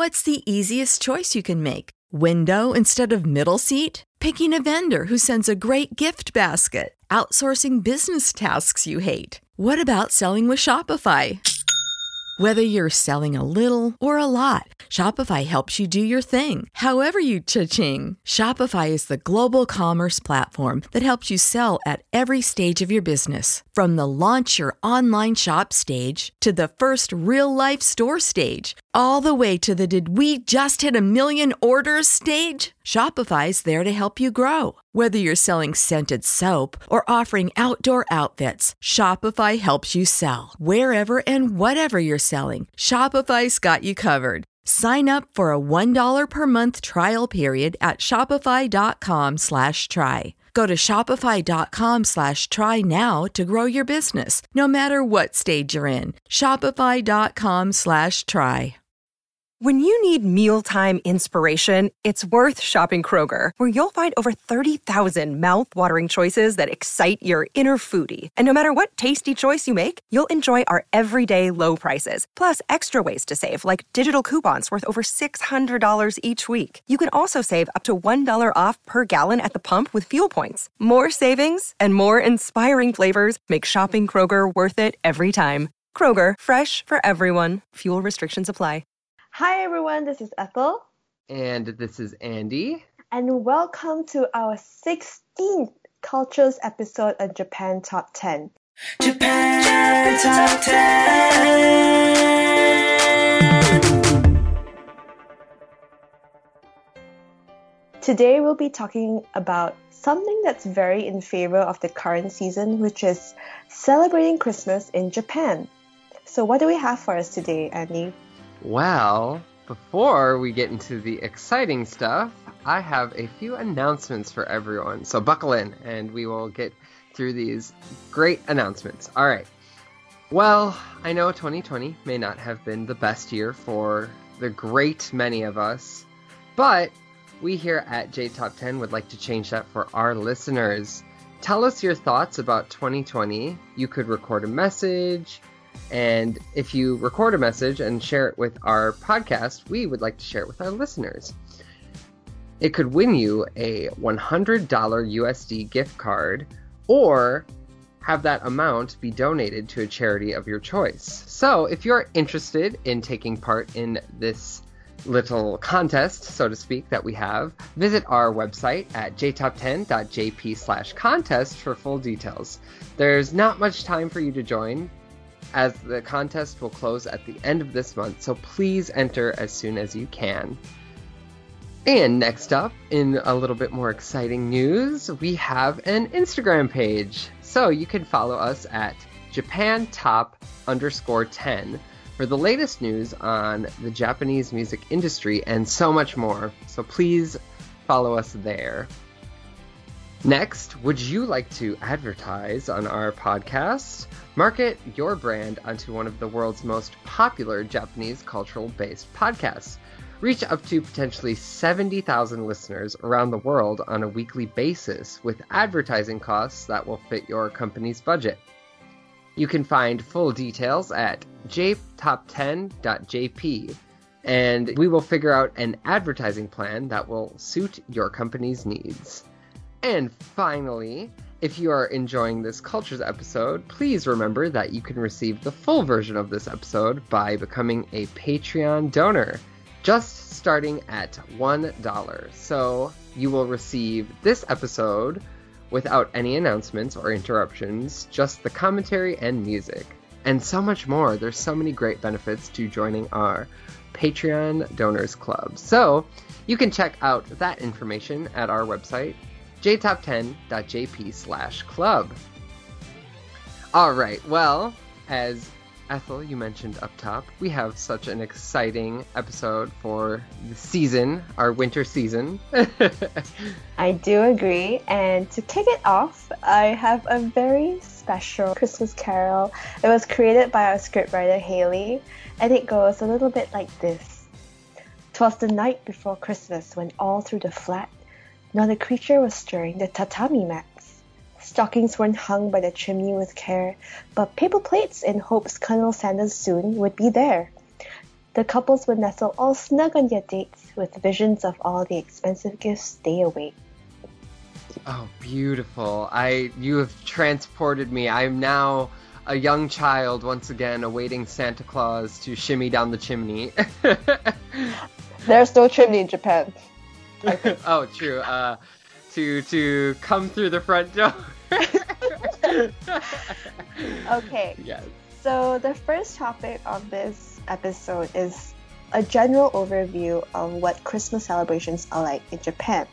What's the easiest choice you can make? Window instead of middle seat? Picking a vendor who sends a great gift basket? Outsourcing business tasks you hate? What about selling with Shopify? Whether you're selling a little or a lot, Shopify helps you do your thing, however you cha-ching. Shopify is the global commerce platform that helps you sell at every stage of your business. From the launch your online shop stage to the first real-life store stage, all the way to the did we just hit a million orders stage. Shopify's there to help you grow. Whether you're selling scented soap or offering outdoor outfits, Shopify helps you sell. Wherever and whatever you're selling, Shopify's got you covered. Sign up for a $1 per month trial period at shopify.com/try. Go to shopify.com/try now to grow your business, no matter what stage you're in. Shopify.com/try. When you need mealtime inspiration, it's worth shopping Kroger, where you'll find over 30,000 mouth-watering choices that excite your inner foodie. And no matter what tasty choice you make, you'll enjoy our everyday low prices, plus extra ways to save, like digital coupons worth over $600 each week. You can also save up to $1 off per gallon at the pump with fuel points. More savings and more inspiring flavors make shopping Kroger worth it every time. Kroger, fresh for everyone. Fuel restrictions apply. Hi everyone, this is Ethel. And this is Andy. And welcome to our 16th Cultures episode on Japan Top 10. Japan Top 10! Today we'll be talking about something that's very in favor of the current season, which is celebrating Christmas in Japan. So what do we have for us today, Andy? Well, before we get into the exciting stuff, I have a few announcements for everyone. So buckle in and we will get through these great announcements. All right. Well, I know 2020 may not have been the best year for the great many of us, but we here at J Top 10 would like to change that for our listeners. Tell us your thoughts about 2020. You could record a message. And if you record a message and share it with our podcast, we would like to share it with our listeners. It could win you a $100 USD gift card or have that amount be donated to a charity of your choice. So if you're interested in taking part in this little contest, so to speak, that we have, visit our website at jtop10.jp/contest for full details. There's not much time for you to join, as the contest will close at the end of this month, so please enter as soon as you can. And next up, in a little bit more exciting news, we have an Instagram page. So you can follow us at JapanTop_10 for the latest news on the Japanese music industry and so much more. So please follow us there. Next, would you like to advertise on our podcast? Market your brand onto one of the world's most popular Japanese cultural-based podcasts. Reach up to potentially 70,000 listeners around the world on a weekly basis with advertising costs that will fit your company's budget. You can find full details at jtop10.jp, and we will figure out an advertising plan that will suit your company's needs. And finally, if you are enjoying this Cultures episode, please remember that you can receive the full version of this episode by becoming a Patreon donor, just starting at $1. So you will receive this episode without any announcements or interruptions, just the commentary and music, and so much more. There's so many great benefits to joining our Patreon Donors Club. So you can check out that information at our website, jtop10.jp/club. All right, well, as Ethel, you mentioned up top, we have such an exciting episode for the season, our winter season. I do agree, and to kick it off, I have a very special Christmas carol. It was created by our scriptwriter Haley, and it goes a little bit like this. 'Twas the night before Christmas when all through the flat not a creature was stirring the tatami mats. Stockings weren't hung by the chimney with care, but paper plates in hopes Colonel Sanders soon would be there. The couples would nestle all snug on their dates with visions of all the expensive gifts they await. Oh, beautiful. You have transported me. I am now a young child once again awaiting Santa Claus to shimmy down the chimney. There's no chimney in Japan. Oh, true. To come through the front door. Okay. Yes. So the first topic of this episode is a general overview of what Christmas celebrations are like in Japan.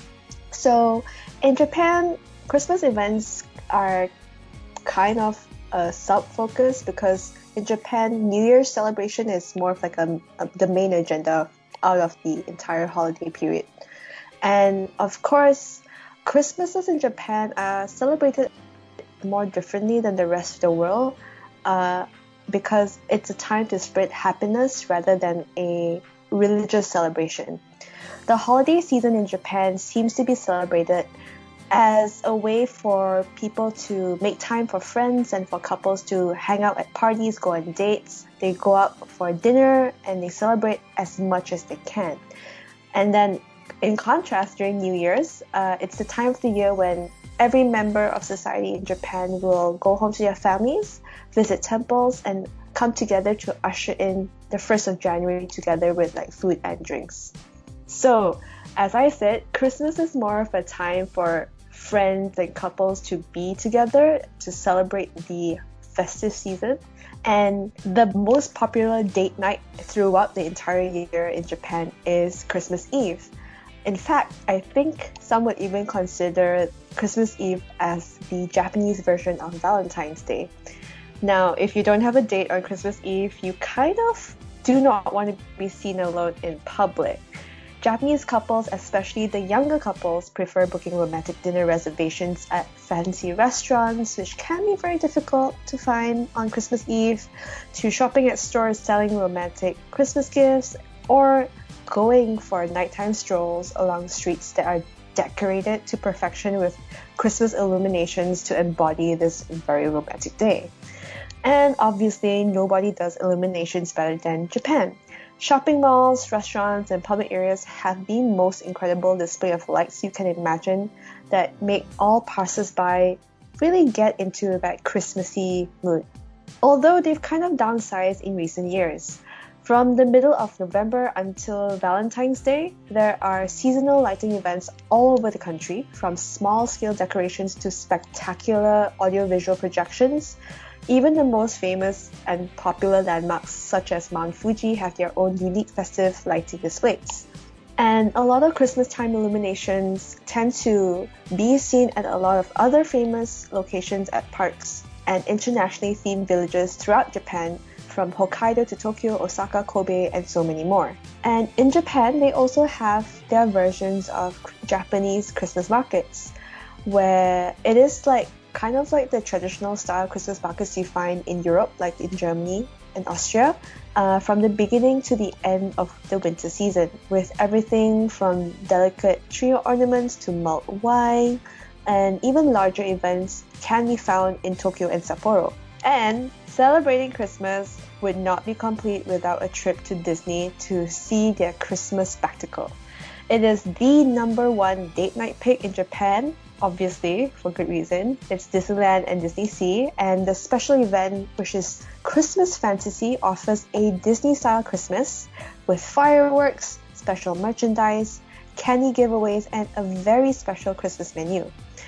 So in Japan, Christmas events are kind of a sub-focus because in Japan, New Year's celebration is more of like the main agenda out of the entire holiday period. And of course, Christmases in Japan are celebrated more differently than the rest of the world because it's a time to spread happiness rather than a religious celebration. The holiday season in Japan seems to be celebrated as a way for people to make time for friends and for couples to hang out at parties, go on dates. They go out for dinner and they celebrate as much as they can. And then in contrast, during New Year's, it's the time of the year when every member of society in Japan will go home to their families, visit temples, and come together to usher in the 1st of January together with like food and drinks. So, as I said, Christmas is more of a time for friends and couples to be together to celebrate the festive season. And the most popular date night throughout the entire year in Japan is Christmas Eve. In fact, I think some would even consider Christmas Eve as the Japanese version of Valentine's Day. Now, if you don't have a date on Christmas Eve, you kind of do not want to be seen alone in public. Japanese couples, especially the younger couples, prefer booking romantic dinner reservations at fancy restaurants, which can be very difficult to find on Christmas Eve, to shopping at stores selling romantic Christmas gifts, or going for nighttime strolls along streets that are decorated to perfection with Christmas illuminations to embody this very romantic day. And obviously, nobody does illuminations better than Japan. Shopping malls, restaurants, and public areas have the most incredible display of lights you can imagine that make all passers-by really get into that Christmassy mood. Although they've kind of downsized in recent years. From the middle of November until Valentine's Day, there are seasonal lighting events all over the country, from small-scale decorations to spectacular audiovisual projections. Even the most famous and popular landmarks such as Mount Fuji have their own unique festive lighting displays. And a lot of Christmas time illuminations tend to be seen at a lot of other famous locations at parks and internationally themed villages throughout Japan, from Hokkaido to Tokyo, Osaka, Kobe, and so many more. And in Japan, they also have their versions of Japanese Christmas markets, where it is kind of like the traditional style Christmas markets you find in Europe, like in Germany and Austria, from the beginning to the end of the winter season, with everything from delicate tree ornaments to mulled wine, and even larger events can be found in Tokyo and Sapporo. And celebrating Christmas would not be complete without a trip to Disney to see their Christmas spectacle. It is the #1 date night pick in Japan, obviously, for good reason. It's Disneyland and Disney Sea, and the special event, which is Christmas Fantasy, offers a Disney-style Christmas with fireworks, special merchandise, candy giveaways, and a very special Christmas menu.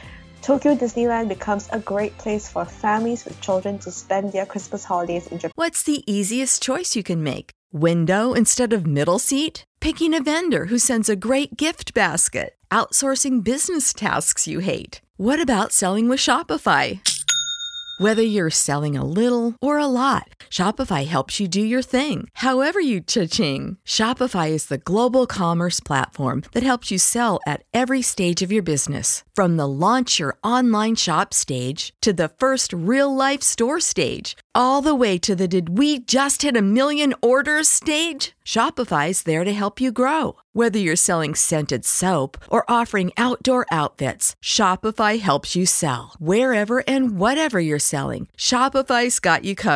Tokyo Disneyland becomes a great place for families with children to spend their Christmas holidays in Japan. What's the easiest choice you can make? Window instead of middle seat? Picking a vendor who sends a great gift basket? Outsourcing business tasks you hate? What about selling with Shopify? Whether you're selling a little or a lot, Shopify helps you do your thing, however you cha-ching. Shopify is the global commerce platform that helps you sell at every stage of your business. From the launch your online shop stage to the first real-life store stage, all the way to the did we just hit 1 million orders stage. Shopify's there to help you grow. Whether you're selling scented soap or offering outdoor outfits, Shopify helps you sell. Wherever and whatever you're selling, Shopify's got you covered.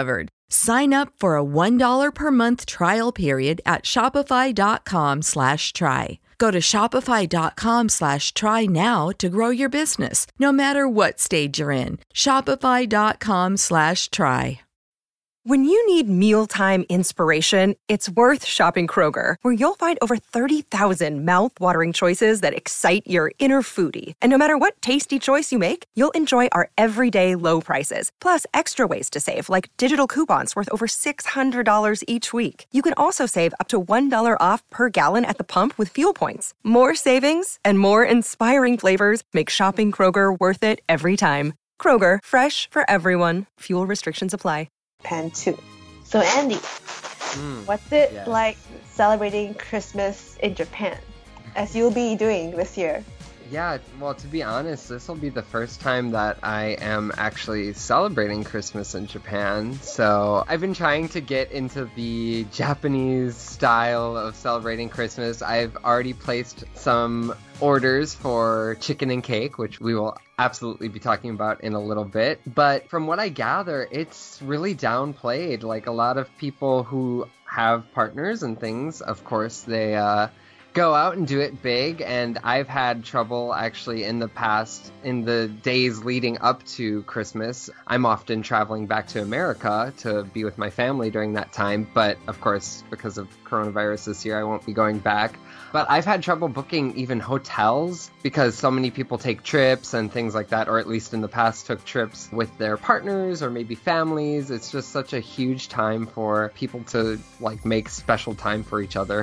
Sign up for a $1 per month trial period at shopify.com/try. Go to shopify.com/try now to grow your business, no matter what stage you're in. Shopify.com/try. When you need mealtime inspiration, it's worth shopping Kroger, where you'll find over 30,000 mouth-watering choices that excite your inner foodie. And no matter what tasty choice you make, you'll enjoy our everyday low prices, plus extra ways to save, like digital coupons worth over $600 each week. You can also save up to $1 off per gallon at the pump with fuel points. More savings and more inspiring flavors make shopping Kroger worth it every time. Kroger, fresh for everyone. Fuel restrictions apply. Japan too. So Andy, what's it yes. like celebrating Christmas in Japan, as you'll be doing this year? Yeah, well, to be honest, this will be the first time that I am actually celebrating Christmas in Japan. So I've been trying to get into the Japanese style of celebrating Christmas. I've already placed some orders for chicken and cake, which we will absolutely be talking about in a little bit. But from what I gather, it's really downplayed. Like, a lot of people who have partners and things, of course, they go out and do it big, and I've had trouble actually in the past, in the days leading up to Christmas. I'm often traveling back to America to be with my family during that time, but of course, because of coronavirus this year, I won't be going back. But I've had trouble booking even hotels because so many people take trips and things like that, or at least in the past took trips with their partners or maybe families. It's just such a huge time for people to like make special time for each other.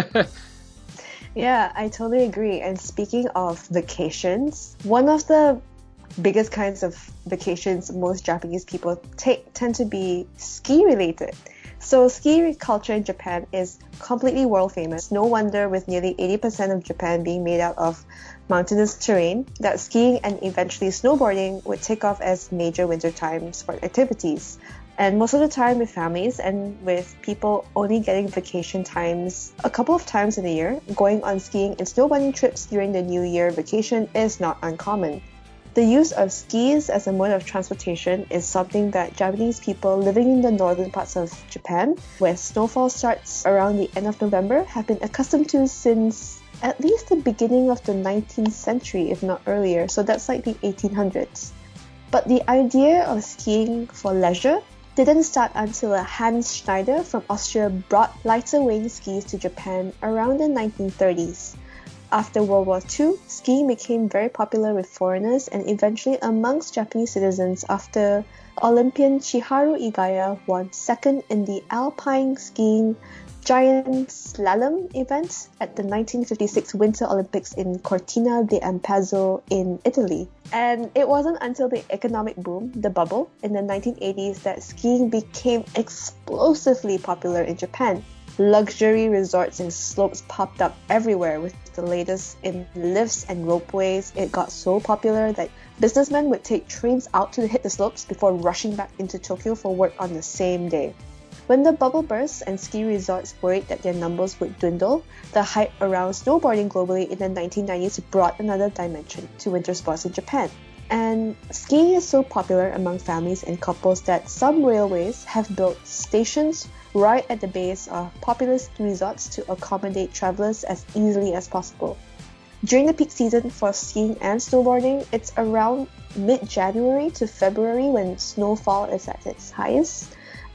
Yeah, I totally agree. And speaking of vacations, one of the biggest kinds of vacations most Japanese people take tend to be ski related. So ski culture in Japan is completely world famous. No wonder, with nearly 80% of Japan being made out of mountainous terrain, that skiing and eventually snowboarding would take off as major wintertime sport activities. And most of the time with families and with people only getting vacation times a couple of times in a year, going on skiing and snowboarding trips during the New Year vacation is not uncommon. The use of skis as a mode of transportation is something that Japanese people living in the northern parts of Japan, where snowfall starts around the end of November, have been accustomed to since at least the beginning of the 19th century, if not earlier. So that's like the 1800s. But the idea of skiing for leisure didn't start until Hans Schneider from Austria brought lighter weighing skis to Japan around the 1930s. After World War II, skiing became very popular with foreigners and eventually amongst Japanese citizens after Olympian Chiharu Igaya won second in the alpine skiing giant slalom event at the 1956 Winter Olympics in Cortina d'Ampezzo in Italy. And it wasn't until the economic boom, the bubble, in the 1980s that skiing became explosively popular in Japan. Luxury resorts and slopes popped up everywhere with the latest in lifts and ropeways. It got so popular that businessmen would take trains out to hit the slopes before rushing back into Tokyo for work on the same day. When the bubble burst and ski resorts worried that their numbers would dwindle, the hype around snowboarding globally in the 1990s brought another dimension to winter sports in Japan. And skiing is so popular among families and couples that some railways have built stations right at the base of popular ski resorts to accommodate travelers as easily as possible. During the peak season for skiing and snowboarding, it's around mid-January to February when snowfall is at its highest.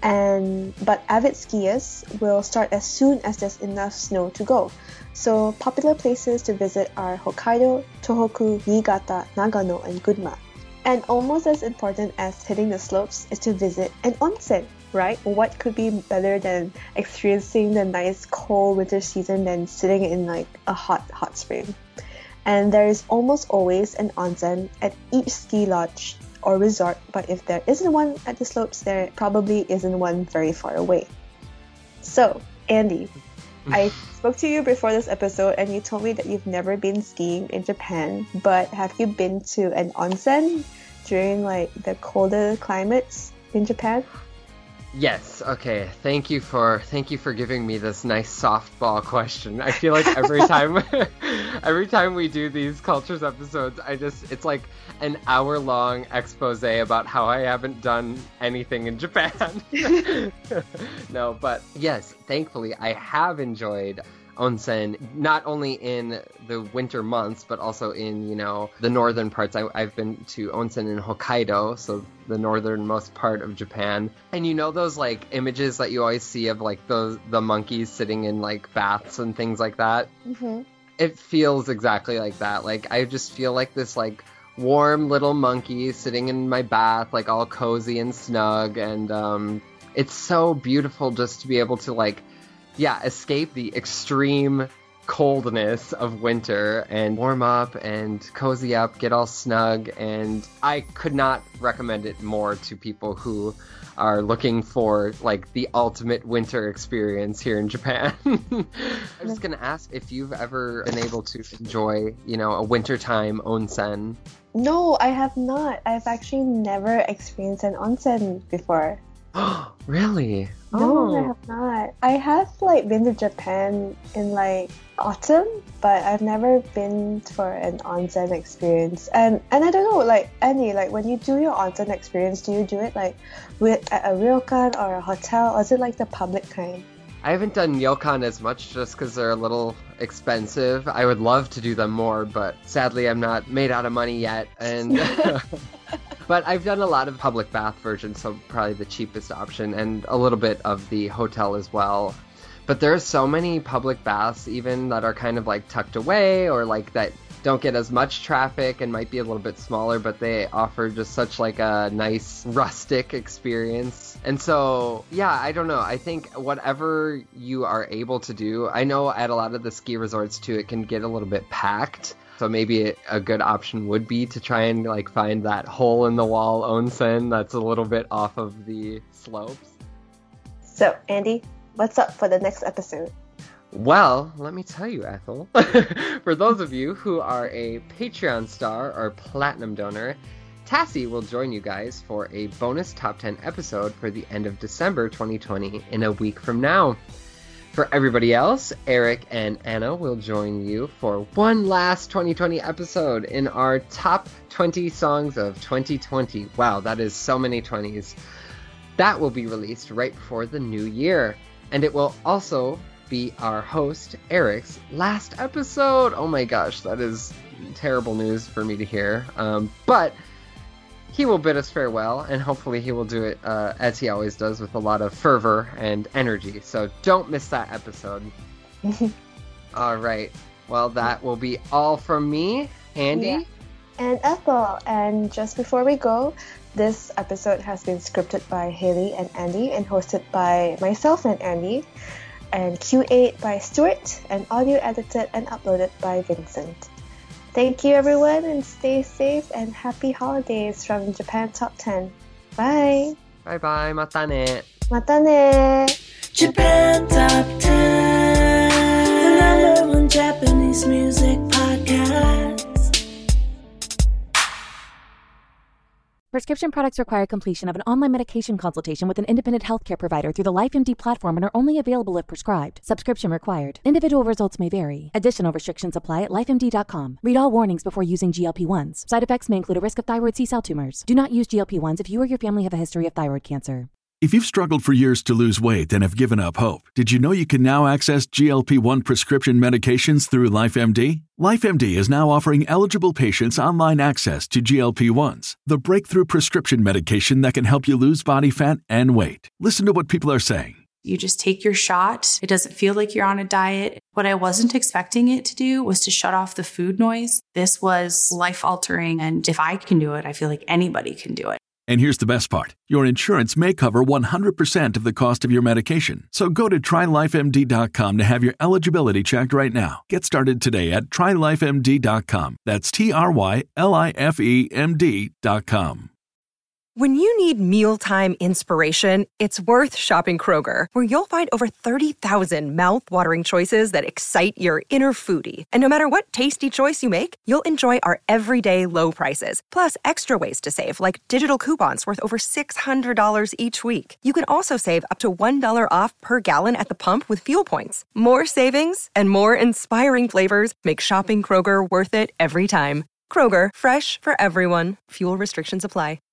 But avid skiers will start as soon as there's enough snow to go. So popular places to visit are Hokkaido, Tohoku, Niigata, Nagano, and Gunma. And almost as important as hitting the slopes is to visit an onsen, right? What could be better than experiencing the nice cold winter season than sitting in like a hot spring? And there is almost always an onsen at each ski lodge or resort, but if there isn't one at the slopes, there probably isn't one very far away. So, Andy, I spoke to you before this episode and you told me that you've never been skiing in Japan, but have you been to an onsen during like the colder climates in Japan? Yes. Okay. Thank you for giving me this nice softball question. I feel like every time we do these cultures episodes, it's like an hour-long expose about how I haven't done anything in Japan. No, but yes, thankfully I have enjoyed onsen, not only in the winter months, but also in, the northern parts. I've been to onsen in Hokkaido, so the northernmost part of Japan. And those like images that you always see of like the monkeys sitting in like baths and things like that? Mm-hmm. It feels exactly like that. Like I just feel like this like warm little monkey sitting in my bath, like all cozy and snug. And it's so beautiful just to be able to like escape the extreme coldness of winter and warm up and cozy up, get all snug. And I could not recommend it more to people who are looking for like the ultimate winter experience here in Japan. I'm just gonna ask if you've ever been able to enjoy, a wintertime onsen. No, I have not. I've actually never experienced an onsen before. Really? No, I have not. I have like been to Japan in like autumn, but I've never been for an onsen experience. And I don't know, like Annie, like when you do your onsen experience, do you do it like at a ryokan or a hotel, or is it like the public kind? I haven't done ryokan as much just because they're a little expensive. I would love to do them more, but sadly I'm not made out of money yet. And but I've done a lot of public bath versions, so probably the cheapest option, and a little bit of the hotel as well. But there are so many public baths even that are kind of like tucked away, or like that don't get as much traffic and might be a little bit smaller, but they offer just such like a nice rustic experience. And so, I don't know. I think whatever you are able to do, I know at a lot of the ski resorts too, it can get a little bit packed. So maybe a good option would be to try and like find that hole in the wall onsen that's a little bit off of the slopes. So, Andy, what's up for the next episode? Well, let me tell you, Ethel. For those of you who are a Patreon star or platinum donor, Tassie will join you guys for a bonus top 10 episode for the end of December 2020 in a week from now. For everybody else, Eric and Anna will join you for one last 2020 episode in our top 20 songs of 2020. Wow, that is so many 20s. That will be released right before the new year. And it will also be our host, Eric's last episode. Oh my gosh, that is terrible news for me to hear. But he will bid us farewell, and hopefully he will do it as he always does, with a lot of fervor and energy. So don't miss that episode. All right. Well, that will be all from me, Andy. Yeah. And Ethel. And just before we go, this episode has been scripted by Haley and Andy and hosted by myself and Andy, and QA'd by Stuart, and audio edited and uploaded by Vincent. Thank you, everyone, and stay safe and happy holidays from Japan Top 10. Bye! Bye-bye. Mata ne. Mata ne! Japan Top 10, the #1 Japanese music podcast. Prescription products require completion of an online medication consultation with an independent healthcare provider through the LifeMD platform and are only available if prescribed. Subscription required. Individual results may vary. Additional restrictions apply at lifemd.com. Read all warnings before using GLP-1s. Side effects may include a risk of thyroid C-cell tumors. Do not use GLP-1s if you or your family have a history of thyroid cancer. If you've struggled for years to lose weight and have given up hope, did you know you can now access GLP-1 prescription medications through LifeMD? LifeMD is now offering eligible patients online access to GLP-1s, the breakthrough prescription medication that can help you lose body fat and weight. Listen to what people are saying. You just take your shot. It doesn't feel like you're on a diet. What I wasn't expecting it to do was to shut off the food noise. This was life-altering, and if I can do it, I feel like anybody can do it. And here's the best part. Your insurance may cover 100% of the cost of your medication. So go to TryLifeMD.com to have your eligibility checked right now. Get started today at TryLifeMD.com. That's TryLifeMD.com. When you need mealtime inspiration, it's worth shopping Kroger, where you'll find over 30,000 mouth-watering choices that excite your inner foodie. And no matter what tasty choice you make, you'll enjoy our everyday low prices, plus extra ways to save, like digital coupons worth over $600 each week. You can also save up to $1 off per gallon at the pump with fuel points. More savings and more inspiring flavors make shopping Kroger worth it every time. Kroger, fresh for everyone. Fuel restrictions apply.